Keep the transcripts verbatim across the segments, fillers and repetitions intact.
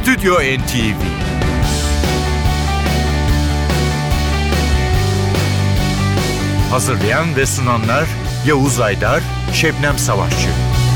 Stüdyo N T V. Hazırlayan ve sunanlar Yavuz Aydar, Şebnem Savaşçı.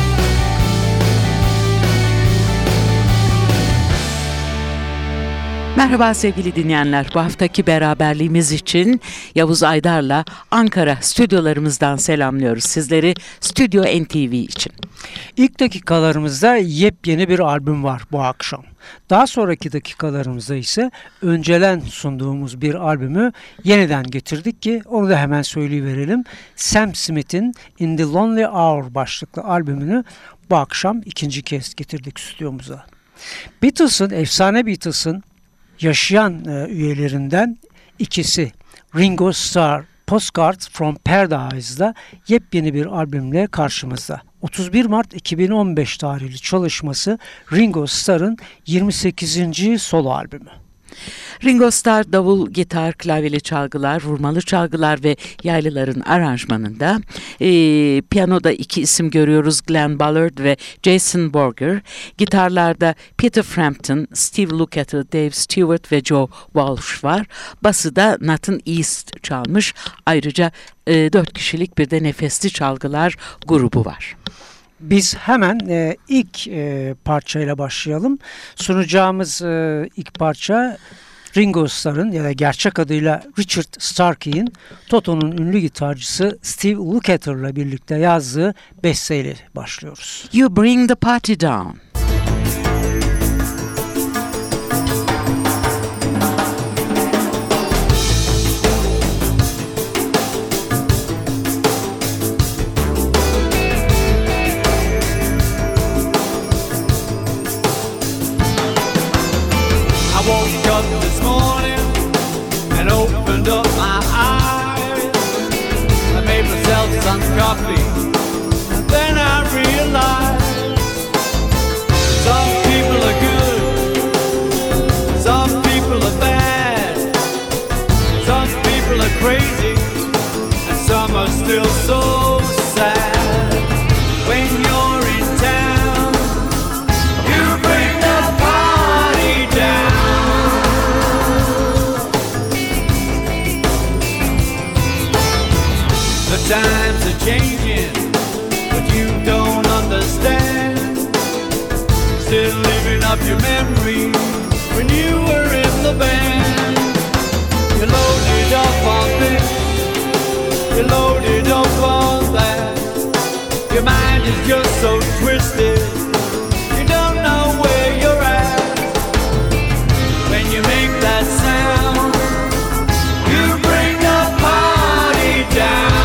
Merhaba sevgili dinleyenler. Bu haftaki beraberliğimiz için Yavuz Aydar'la Ankara stüdyolarımızdan selamlıyoruz sizleri Stüdyo N T V için. İlk dakikalarımızda yepyeni bir albüm var bu akşam. Daha sonraki dakikalarımızda ise önceden sunduğumuz bir albümü yeniden getirdik ki onu da hemen söyleyiverelim. Sam Smith'in In the Lonely Hour başlıklı albümünü bu akşam ikinci kez getirdik stüdyomuza. Beatles'ın, efsane Beatles'ın yaşayan e, üyelerinden ikisi Ringo Starr, Postcards from Paradise'da yepyeni bir albümle karşımızda. otuz bir Mart iki bin on beş tarihli çalışması Ringo Starr'ın yirmi sekizinci solo albümü. Ringo Starr davul, gitar, klavyeli çalgılar, vurmalı çalgılar ve yaylıların aranjmanında. E, piyanoda iki isim görüyoruz, Glenn Ballard ve Jason Borger. Gitarlarda Peter Frampton, Steve Lukather, Dave Stewart ve Joe Walsh var. Bası da Nathan East çalmış. Ayrıca e, dört kişilik bir de nefesli çalgılar grubu var. Biz hemen e, ilk e, parçayla başlayalım. Sunacağımız e, ilk parça Ringo Starr'ın ya da gerçek adıyla Richard Starkey'in Toto'nun ünlü gitarcısı Steve Lukather'la birlikte yazdığı besteyle başlıyoruz. You Bring the Party Down. Up my eyes, I made myself some coffee, and then I realized some people are good, some people are bad, some people are crazy, and some are still so sad. When you're in town, you bring the party down. The times are changing, but you don't understand. Still living up your memories when you were in the band. You loaded up on this, you loaded up on that. Your mind is just so twisted, you don't know where you're at. When you make that sound, you bring the party down.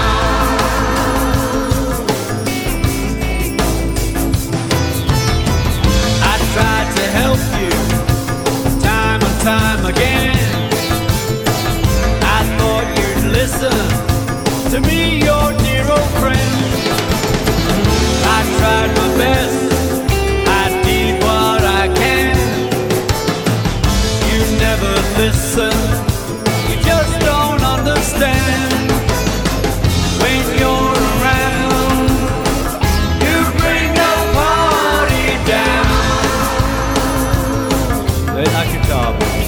Tried to help you time and time again. I thought you'd listen to me, your dear old friend. I tried my best, I did what I can. You never listen, you just don't understand. When you're around, you bring the party down. Play that guitar, baby.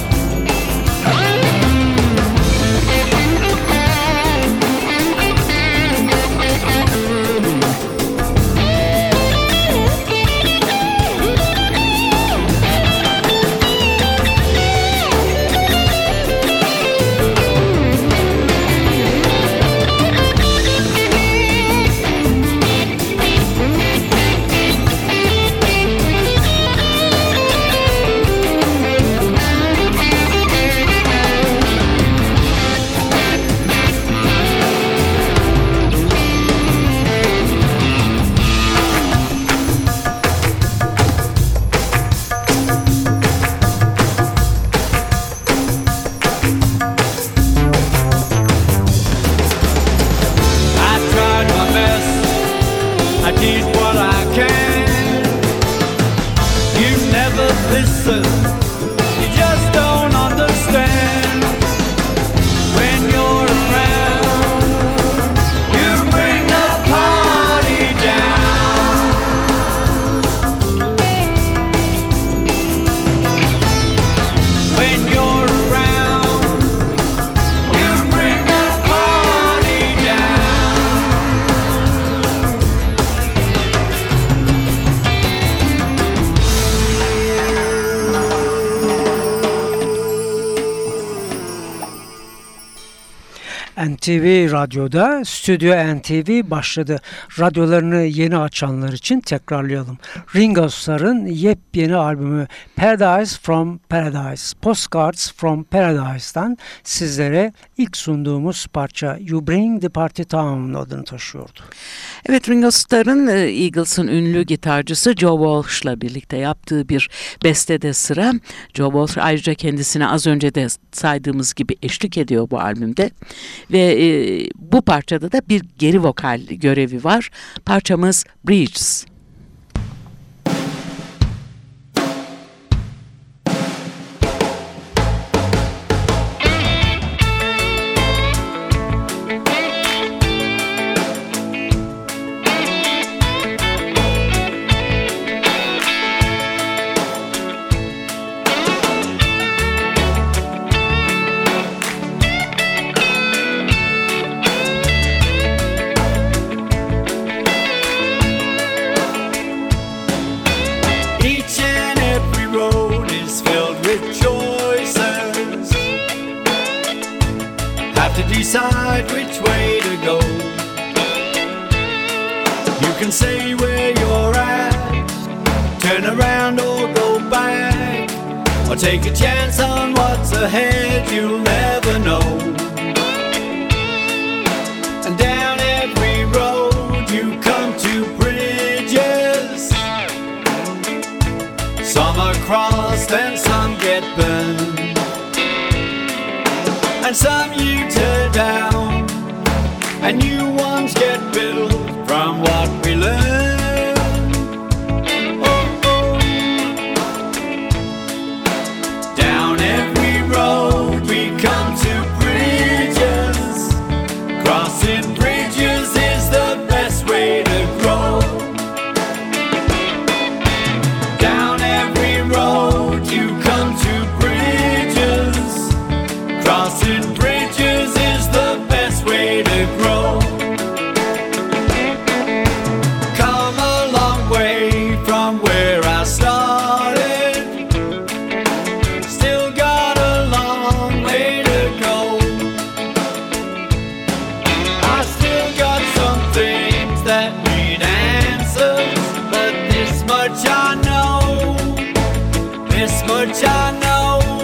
Listen, you just don't understand. When you're around, you bring the party down. N T V Radyo'da Stüdyo N T V başladı. Radyolarını yeni açanlar için tekrarlayalım. Ringo Starr'ın yepyeni albümü Paradise from Paradise, Postcards from Paradise'dan sizlere ilk sunduğumuz parça You Bring the Party Down adını taşıyordu. Evet, Ringo Starr'ın Eagles'ın ünlü gitarcısı Joe Walsh'la birlikte yaptığı bir bestede sıra. Joe Walsh ayrıca kendisine az önce de saydığımız gibi eşlik ediyor bu albümde. Ve e, bu parçada da bir geri vokal görevi var. Parçamız Bridges. Decide which way to go. You can say where you're at, turn around or go back, or take a chance on what's ahead, you'll never know. And down every road you come to bridges. Some are crossed and some get burned, and some you tear down, and new ones get built from what we learn. Oh, oh. Down every road we come to bridges. Crossing bridges is the best way to grow. Down every road you come to bridges. Crossing bridges is the best way to grow. Come a long way from where I started. Still got a long way to go. I still got some things that need answers, but this much I know, this much I know.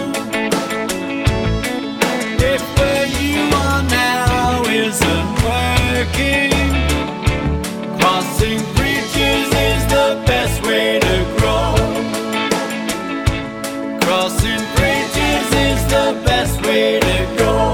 Crossing bridges is the best way to grow. Crossing bridges is the best way to go.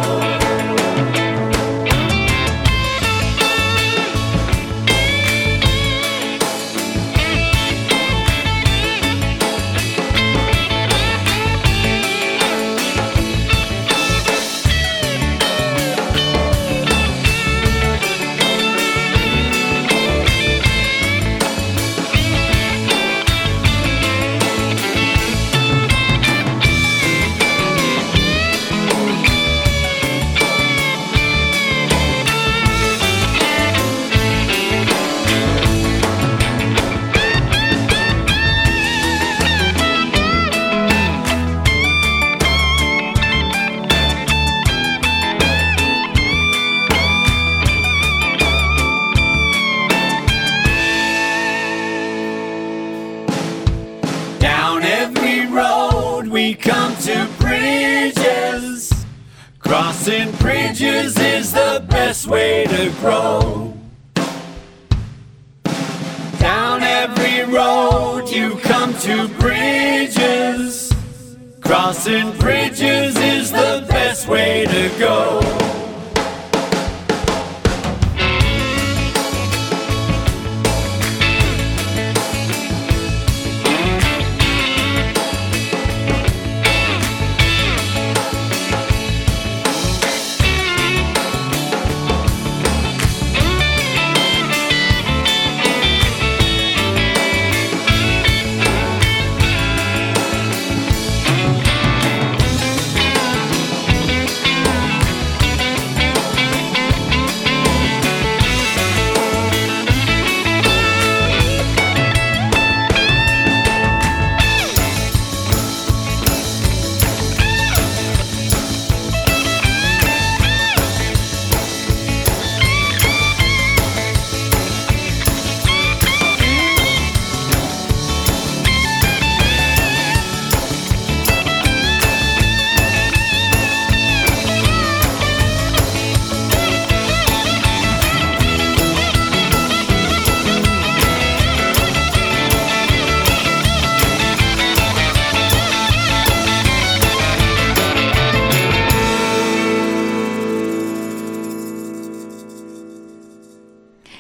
We come to bridges. Crossing bridges is the best way to grow. Down every road you come to bridges. Crossing bridges is the best way to go.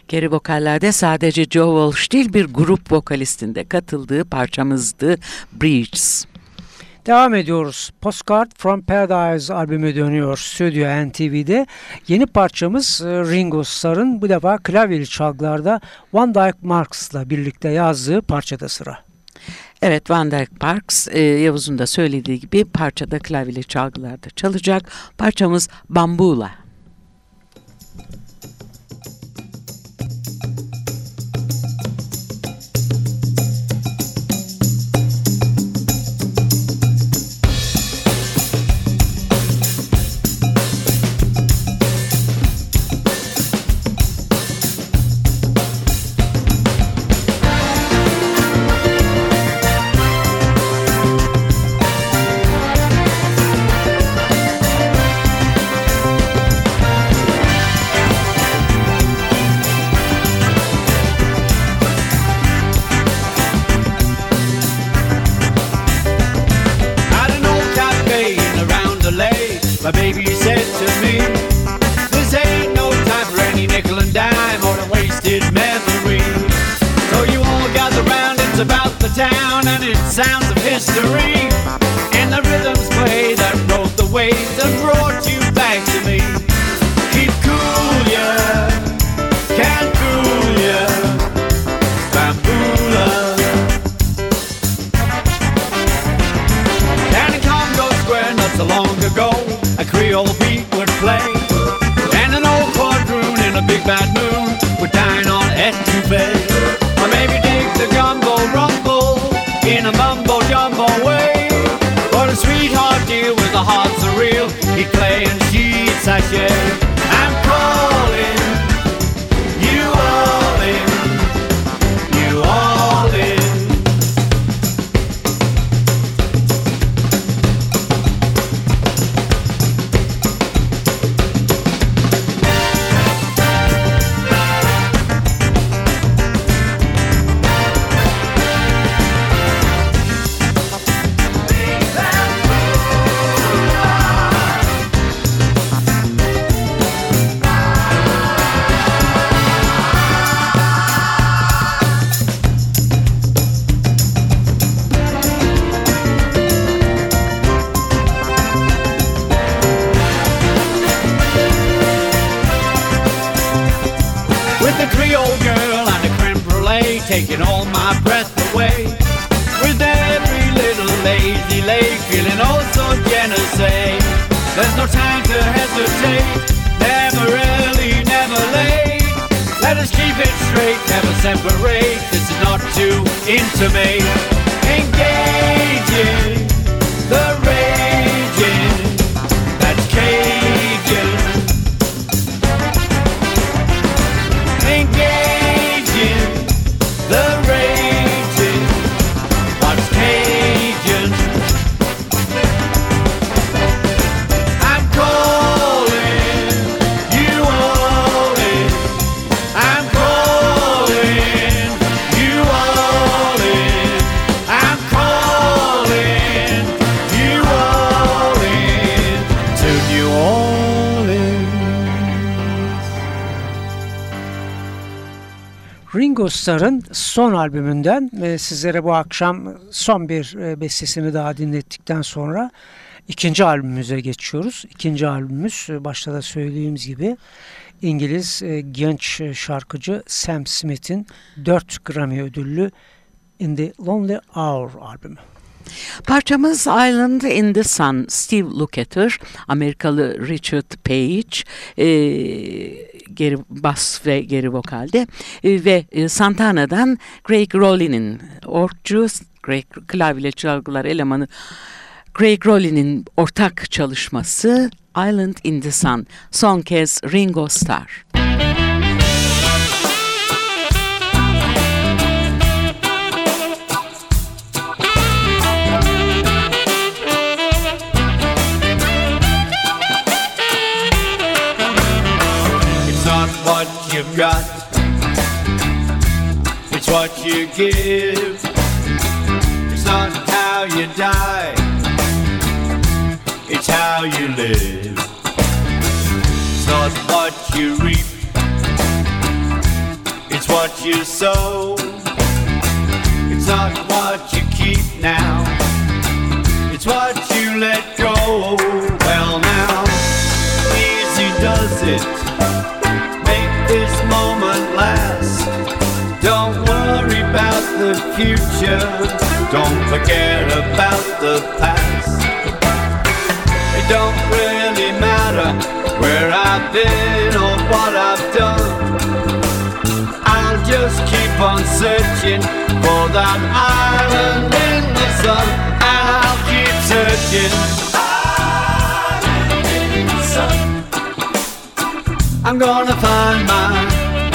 Geri vokallerde sadece Joe Walsh değil bir grup vokalistinde katıldığı parçamızdı Breeze. Devam ediyoruz. Postcard from Paradise albümü dönüyor Stüdyo N T V'de. Yeni parçamız Ringo Starr'ın bu defa klavyeli çalgılarda Van Dyke Marks'la birlikte yazdığı parçada sıra. Evet, Van Dyke Parks, e, Yavuz'un da söylediği gibi parçada klavyeli çalgılarda çalacak. Parçamız Bambula. My baby said to me, this ain't no time for any nickel and dime or a wasted memory. So you all gather round, it's about the town and it sounds of history. And the rhythms play that rode the waves and brought you back to me. Keep cool, yeah, can't fool ya, Bambula. Down in Congo Square not so long ago, a Creole beat would play, and an old quadroon in a big bad moon would dine on etouffee. Or maybe dig the gumbo rumble in a mumbo jumbo way. But a sweetheart deal with the hearts are real, he'd play and she'd sashay. I'm calling you all in, you all in. Taking all my breath away, with every little lazy leg feeling oh so Genesee. There's no time to hesitate, never early, never late. Let us keep it straight, never separate. This is not to intimate. Engaging the raging, that's Cajun. Engaging the raging, what's Cajun? I'm calling you all in, I'm calling you all in, I'm calling you all in to New Orleans. Ringo Starr'ın son albümünden e, sizlere bu akşam son bir e, bestesini daha dinlettikten sonra ikinci albümümüze geçiyoruz. İkinci albümümüz e, başta da söylediğimiz gibi İngiliz e, genç şarkıcı Sam Smith'in dört Grammy ödüllü In the Lonely Hour albümü. Parçamız Island in the Sun, Steve Lukather, Amerikalı Richard Page, e, geri bas ve geri vokalde e, ve e, Santana'dan Craig Rollin'in orkçu, Craig klavyeli çalgılar elemanı Craig Rollin'in ortak çalışması Island in the Sun, son kez Ringo Starr. What you've got, it's what you give. It's not how you die, it's how you live. It's not what you reap, what you sow. It's not what you keep now. It's what you let go. Well now, easy does it. Make this moment last. Don't worry about the future. Don't forget about the past. It don't really matter where I've been or what I've done. I'll just keep on searching for that island in the sun. And I'll keep searching. Island in the sun. I'm gonna find my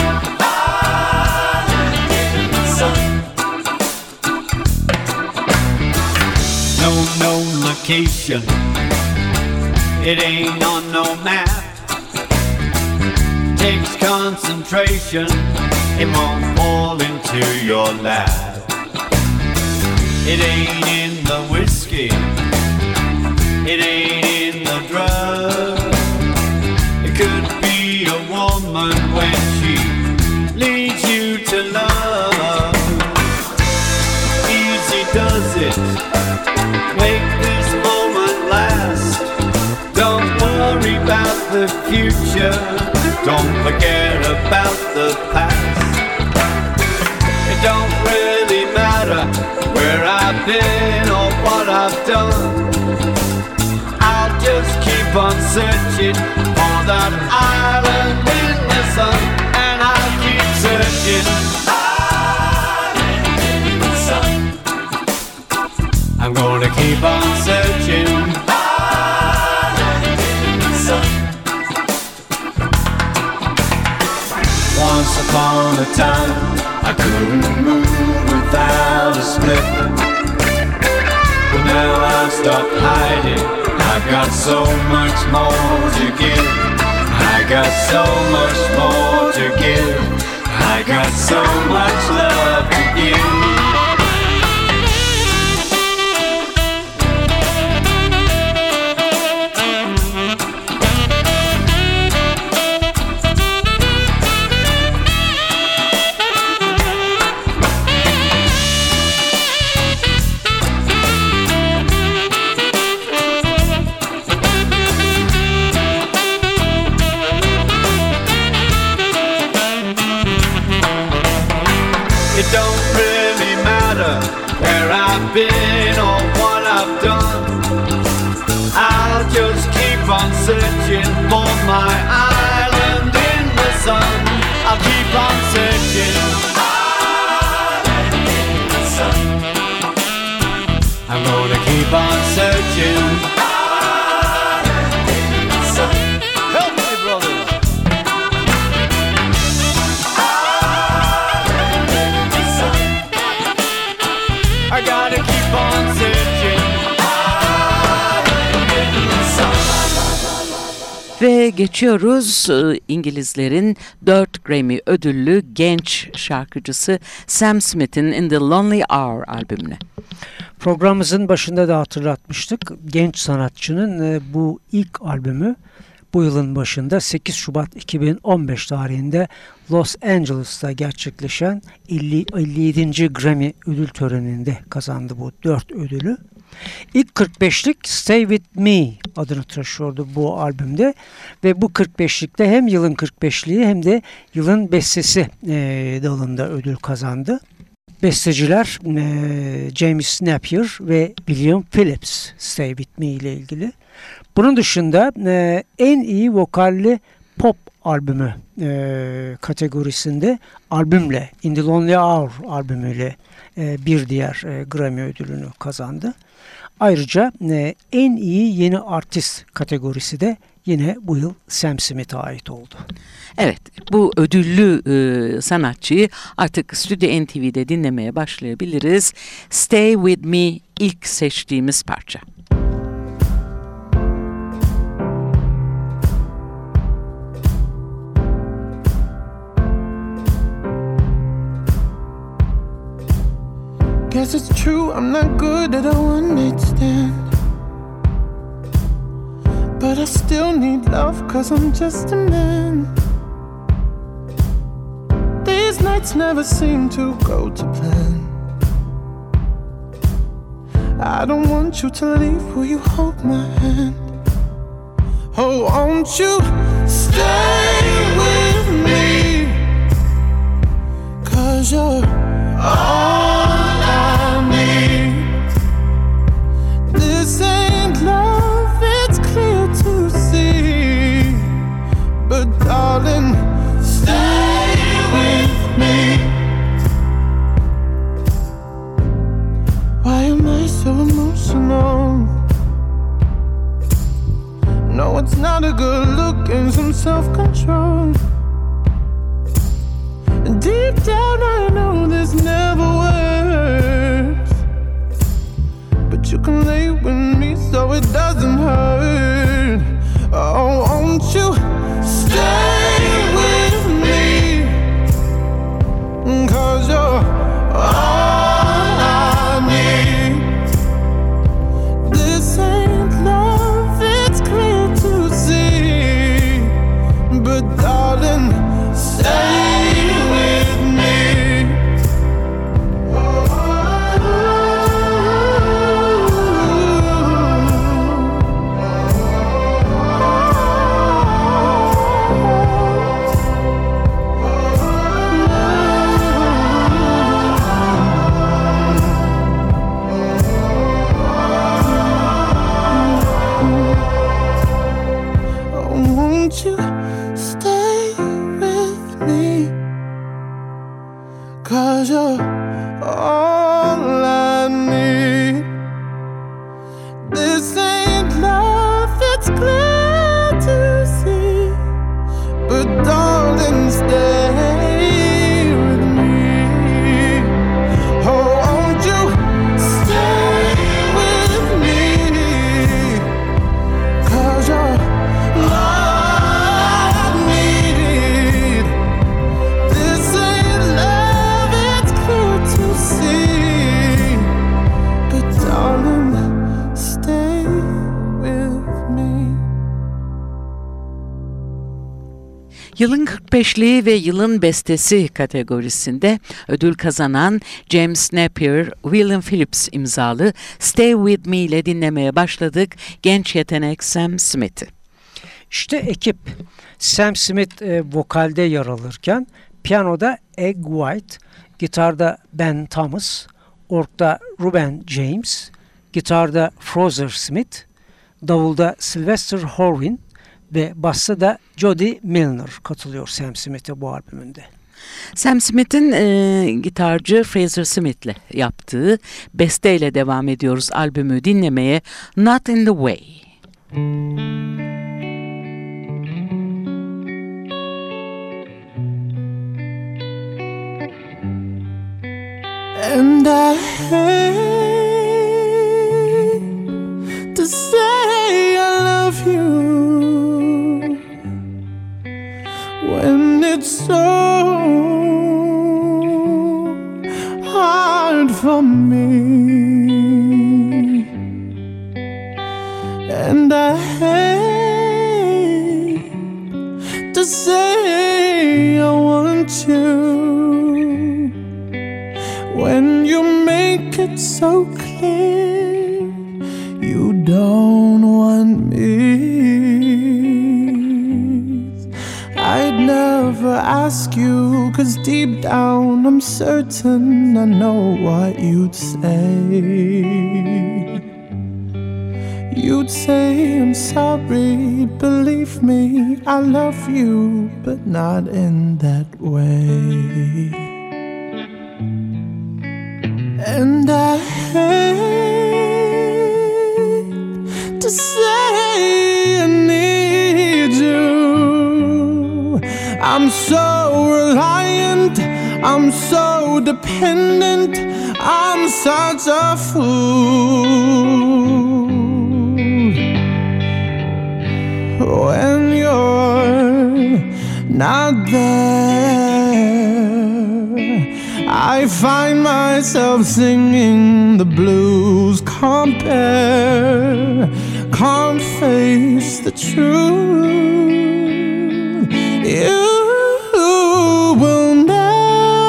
no, no location. It ain't on no map. Takes concentration. It won't fall into your lap. It ain't in the whiskey. It ain't in the drug. It could be a woman when she leads you to love. Easy does it. Make this moment last. Don't worry about the future. Don't forget about the past. It don't really matter where I've been or what I've done. I'll just keep on searching for that island in the sun. And I'll keep searching. Island in the sun. I'm gonna keep on searching. Island in the sun. Once upon a time, I couldn't move without a split. But now I've stopped hiding. I've got so much more to give. I got so much more to give. I got so much love to give. It don't really matter where I've been or what I've done. I'll just keep on searching for my island in the sun. I'll keep on searching. Island in the sun. I'm gonna keep on searching. Island in the sun. Help me, brother. I gotta keep on searching. Ve geçiyoruz e, İngilizlerin dört Grammy ödüllü genç şarkıcısı Sam Smith'in In the Lonely Hour albümüne. Programımızın başında da hatırlatmıştık. Genç sanatçının e, bu ilk albümü bu yılın başında sekiz Şubat iki bin on beş tarihinde Los Angeles'ta gerçekleşen elli yedinci Grammy ödül töreninde kazandı bu dört ödülü. İlk kırk beşlik Stay With Me adını taşıyordu bu albümde ve bu kırk beşlikte hem yılın kırk beşliği hem de yılın bestesi e, dalında ödül kazandı. Besteciler e, James Napier ve William Phillips Stay With Me ile ilgili. Bunun dışında e, en iyi vokalli pop albümü e, kategorisinde albümle In the Lonely Hour albümüyle e, bir diğer e, Grammy ödülünü kazandı. Ayrıca e, en iyi yeni artist kategorisi de yine bu yıl Sam Smith'e ait oldu. Evet, bu ödüllü e, sanatçıyı artık Stüdyo N T V'de dinlemeye başlayabiliriz. Stay With Me ilk seçtiğimiz parça. Guess it's true, I'm not good at a one-night stand, but I still need love, cause I'm just a man. These these nights never seem to go to plan. I don't want you to leave, will you hold my hand? Oh, won't you stay with me? 'Cause you're all I need. This ain't love, it's clear to see. But darling, stay with me. Why am I so emotional? No, it's not a good look and some self-control. And deep down I know this never works, but you can lay with me so it doesn't hurt. Oh, won't you stay with me? 'Cause you're all I need. This ain't love, it's clear to see. But darling, stay with me. Won't you stay with me? 'Cause you're all I need. This ain't love, it's clear to see. But darling, stay with me. Oh, won't you stay with me? 'Cause you're all I need. This ain't love, it's clear to see. But darling, stay with me. Yılın kırk beşli ve yılın bestesi kategorisinde ödül kazanan James Napier, William Phillips imzalı Stay With Me ile dinlemeye başladık genç yetenek Sam Smith'i. İşte ekip Sam Smith e, vokalde yer alırken piyanoda Egg White, gitarda Ben Thomas, orgda Ruben James, gitarda Fraser Smith, davulda Sylvester Horwin ve basta da Jody Milner katılıyor Sam Smith'e bu albümünde. Sam Smith'in e, gitarcı Fraser Smith'le yaptığı besteyle devam ediyoruz albümü dinlemeye. Not in the Way. And I hate to say I love you when it's so hard for me. And I hate to say I want you when you make it so clear you don't want me. I'd never ask you, 'cause deep down I'm certain I know what you'd say. You'd say I'm sorry, believe me, I love you, but not in that way. And I hate to say I need you. I'm so reliant, I'm so dependent, I'm such a fool. When you're not there, I find myself singing the blues. Compare, can't face the truth. You will never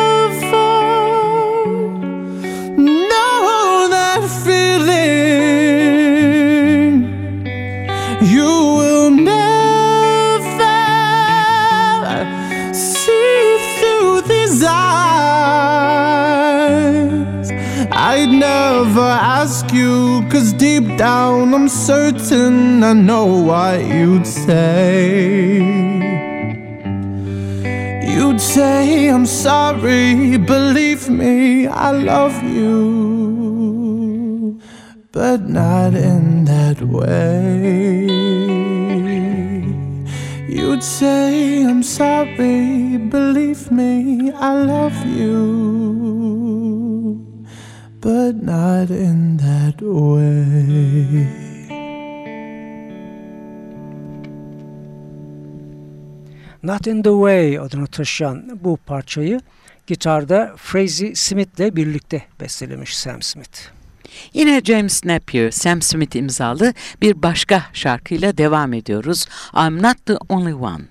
never ask you, 'cause deep down I'm certain I know what you'd say. You'd say I'm sorry, believe me, I love you, but not in that way. You'd say I'm sorry, believe me, I love you, but not in that way. Not in the Way adını taşıyan bu parçayı gitarda Frazy Smith'le birlikte bestelemiş Sam Smith. Yine James Napier, Sam Smith imzalı bir başka şarkıyla devam ediyoruz. I'm Not the Only One.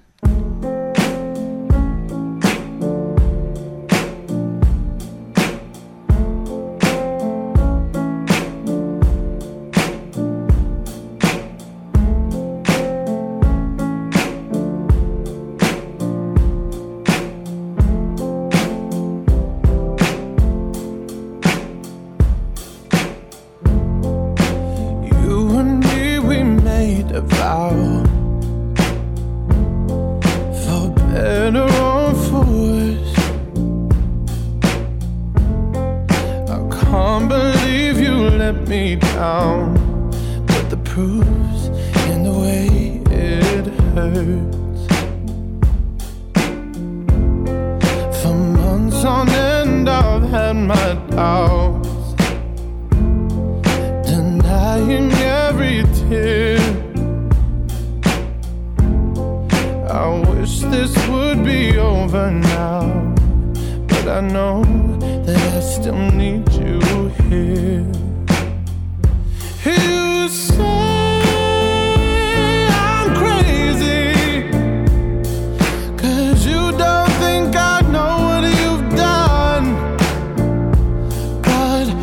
Me down, but the proof's in the way it hurts. For months on end I've had my doubts, denying every tear. I wish this would be over now, but I know that I still need you here. You say I'm crazy, 'cause you don't think I know what you've done. But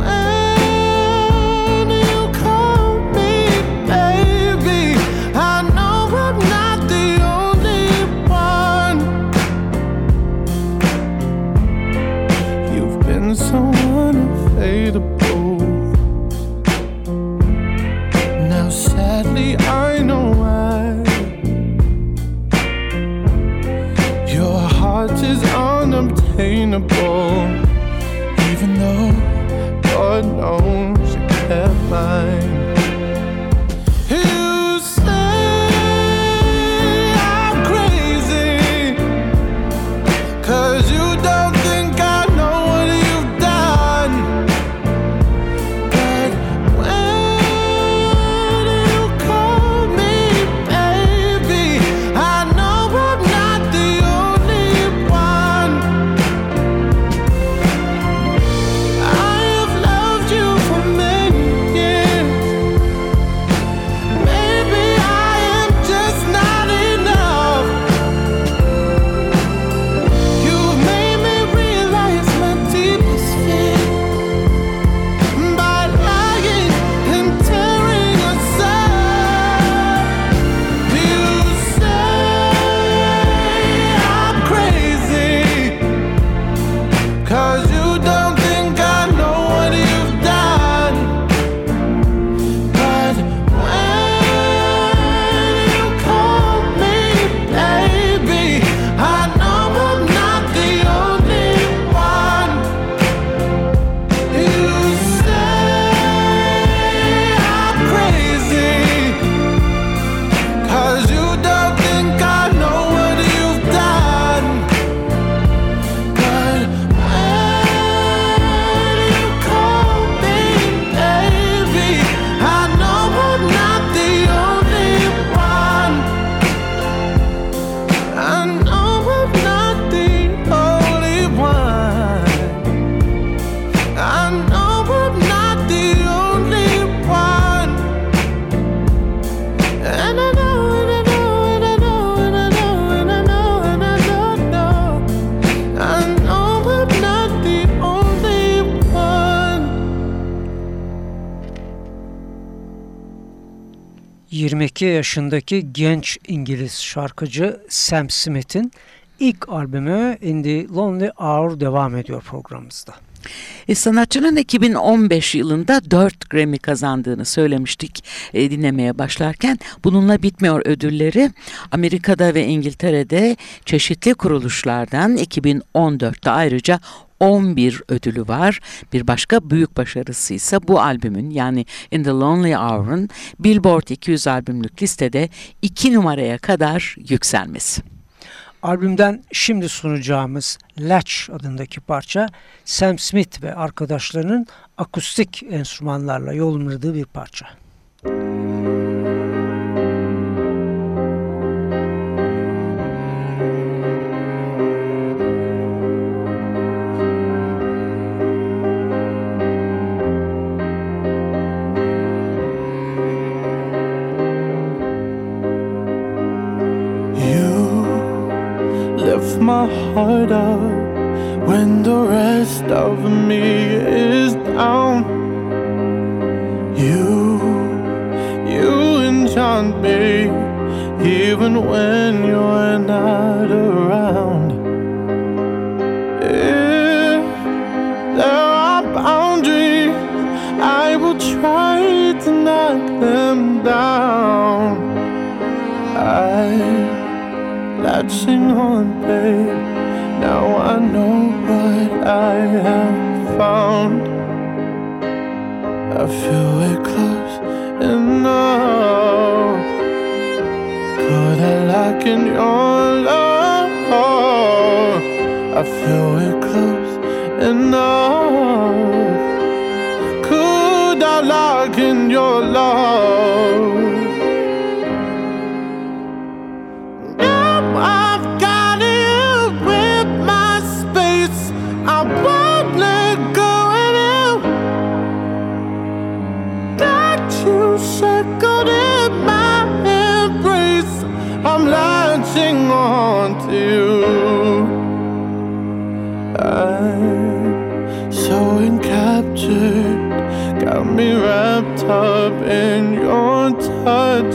when you call me baby, I know I'm not the only one. You've been so unfadable. Sadly, I know why. Your heart is unobtainable, even though God knows you kept mine. You say I'm crazy, 'cause you don't think I know what you've done. But yirmi iki yaşındaki genç İngiliz şarkıcı Sam Smith'in ilk albümü In the Lonely Hour devam ediyor programımızda. E, sanatçının iki bin on beş yılında dört Grammy kazandığını söylemiştik e, dinlemeye başlarken. Bununla bitmiyor ödülleri. Amerika'da ve İngiltere'de çeşitli kuruluşlardan iki bin on dörtte ayrıca on bir ödülü var. Bir başka büyük başarısı ise bu albümün, yani In the Lonely Hour'ın Billboard iki yüz albümlük listede iki numaraya kadar yükselmesi. Albümden şimdi sunacağımız Latch adındaki parça, Sam Smith ve arkadaşlarının akustik enstrümanlarla yorumladığı bir parça. Lift my heart up when the rest of me is down. You, you enchant me even when you're not around. If there are boundaries, I will try to knock them down. I latching on, babe. Now I know what I have found. I feel it close enough. Could I lock in your love? I feel it close enough. Could I lock in your love? I've got you with my space. I won't let go of you. Got you shackled in my embrace. I'm latching on to you. I'm so encaptured, got me wrapped up in your touch.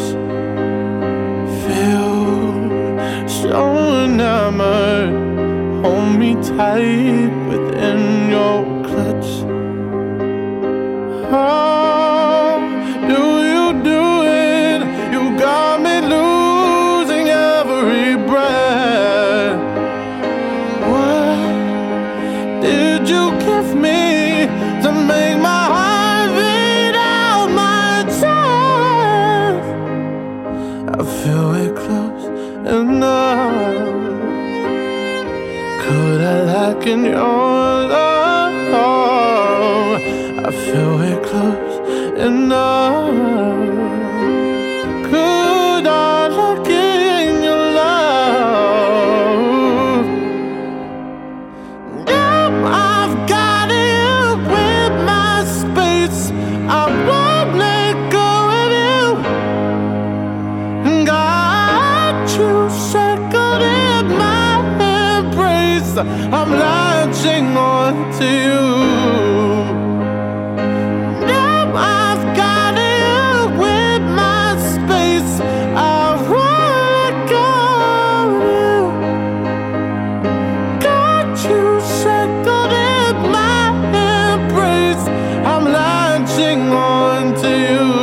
Feel so enamored, hold me tight within your clutch. How do you do it? You got me losing every breath. What did you give me to make my heart beat out my chest? I feel it close enough. Could I lock in your love? I feel it close enough. Could I lock in your love? Now I've got you with my space. I won't let go of you. Got you shackled in my embrace. I'm latching on to you. Now I've got you with my space. I won't let go of you. Got you shackled in my embrace. I'm latching on to you.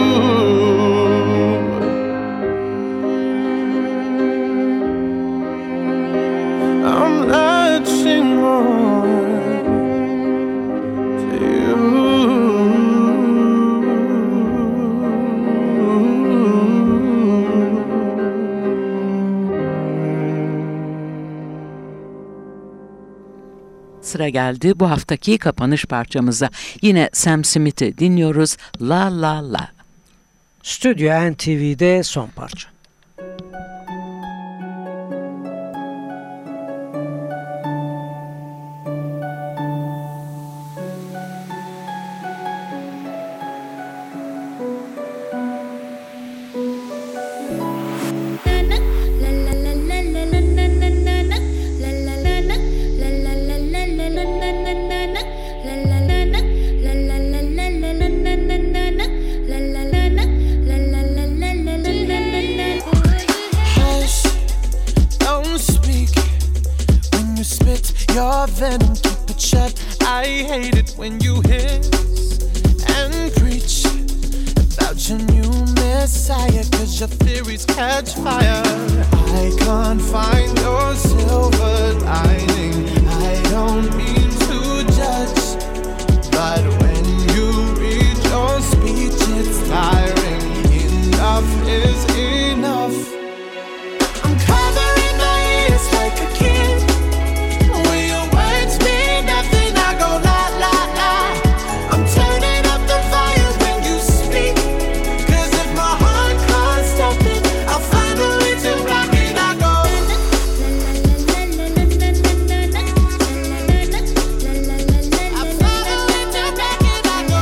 I'm latching on to you. Sıra geldi bu haftaki kapanış parçamıza. Yine Sam Smith'i dinliyoruz. La La La. Stüdyo N T V'de son parça. La la la la desire, cause your theories catch fire. I can't find your silver lining. I don't mean to judge, but when you read your speech, it's tiring. Enough is enough. I'm covering my ears like a kid. When your words mean nothing, I go la la la. I'm turning up the volume when you speak, cause if my heart can't stop it, I'll find a way to rock it. I go I'll find a way to rock it. I go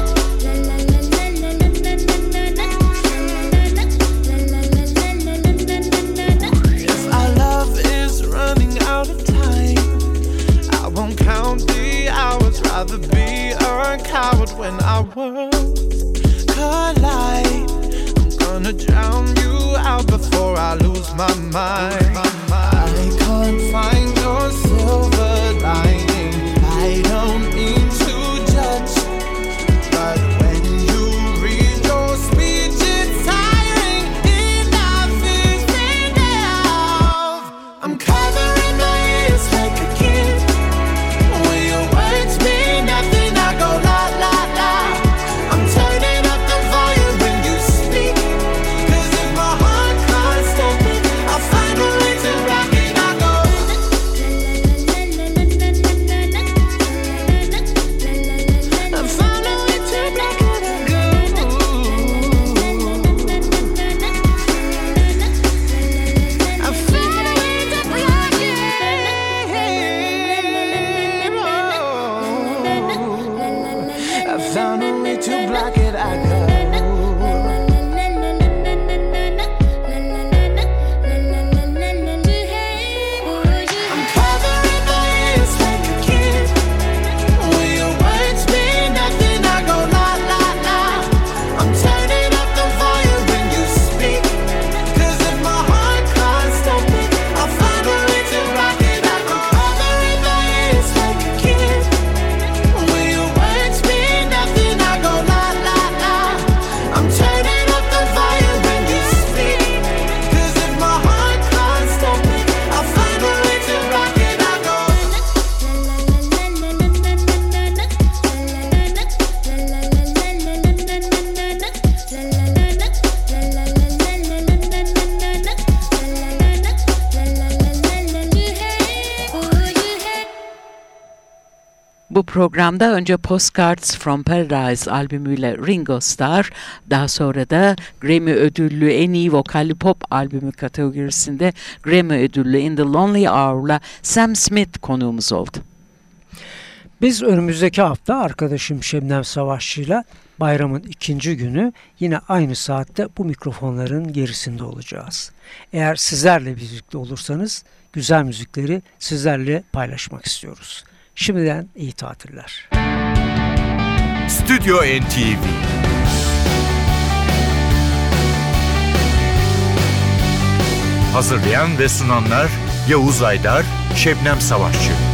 if our love is running out of time, I won't count the hours. Rather be a coward when our worlds collide. I'm gonna drown you out before I lose my mind. I can't find your silver lining. I don't mean to judge, but when you read your speech, it's tiring. Enough is enough. I'm covering my ears like a kid. When your words mean nothing, I go la la la. I'm turning up the volume when you speak, cause if my heart can't stop it, I'll find a way to rock it. I go I found a way to rock it. I go I found a way to rock it. I found a way to block it. I go. I'm covering my ears like a kid. When your words mean nothing, I go la la la. I'm turning up the volume when you speak, cause if my heart can't stop it, I'll find a way to rock it. I go covering my ears like a kid. When your words mean nothing, I go la la la. I'm turning up the volume when you speak, cause if my heart can't stop it, I'll find a way to rock it. I go Bu programda önce Postcards from Paradise albümüyle Ringo Starr, daha sonra da Grammy ödüllü en iyi vokalli pop albümü kategorisinde Grammy ödüllü In the Lonely Hour'la Sam Smith konuğumuz oldu. Biz önümüzdeki hafta arkadaşım Şebnem Savaşçı'yla bayramın ikinci günü yine aynı saatte bu mikrofonların gerisinde olacağız. Eğer sizlerle birlikte olursanız güzel müzikleri sizlerle paylaşmak istiyoruz. Şimdiden iyi tatiller. Stüdyo N T V Hazırlayan ve sunanlar Yavuz Aydar, Şebnem Savaşçı.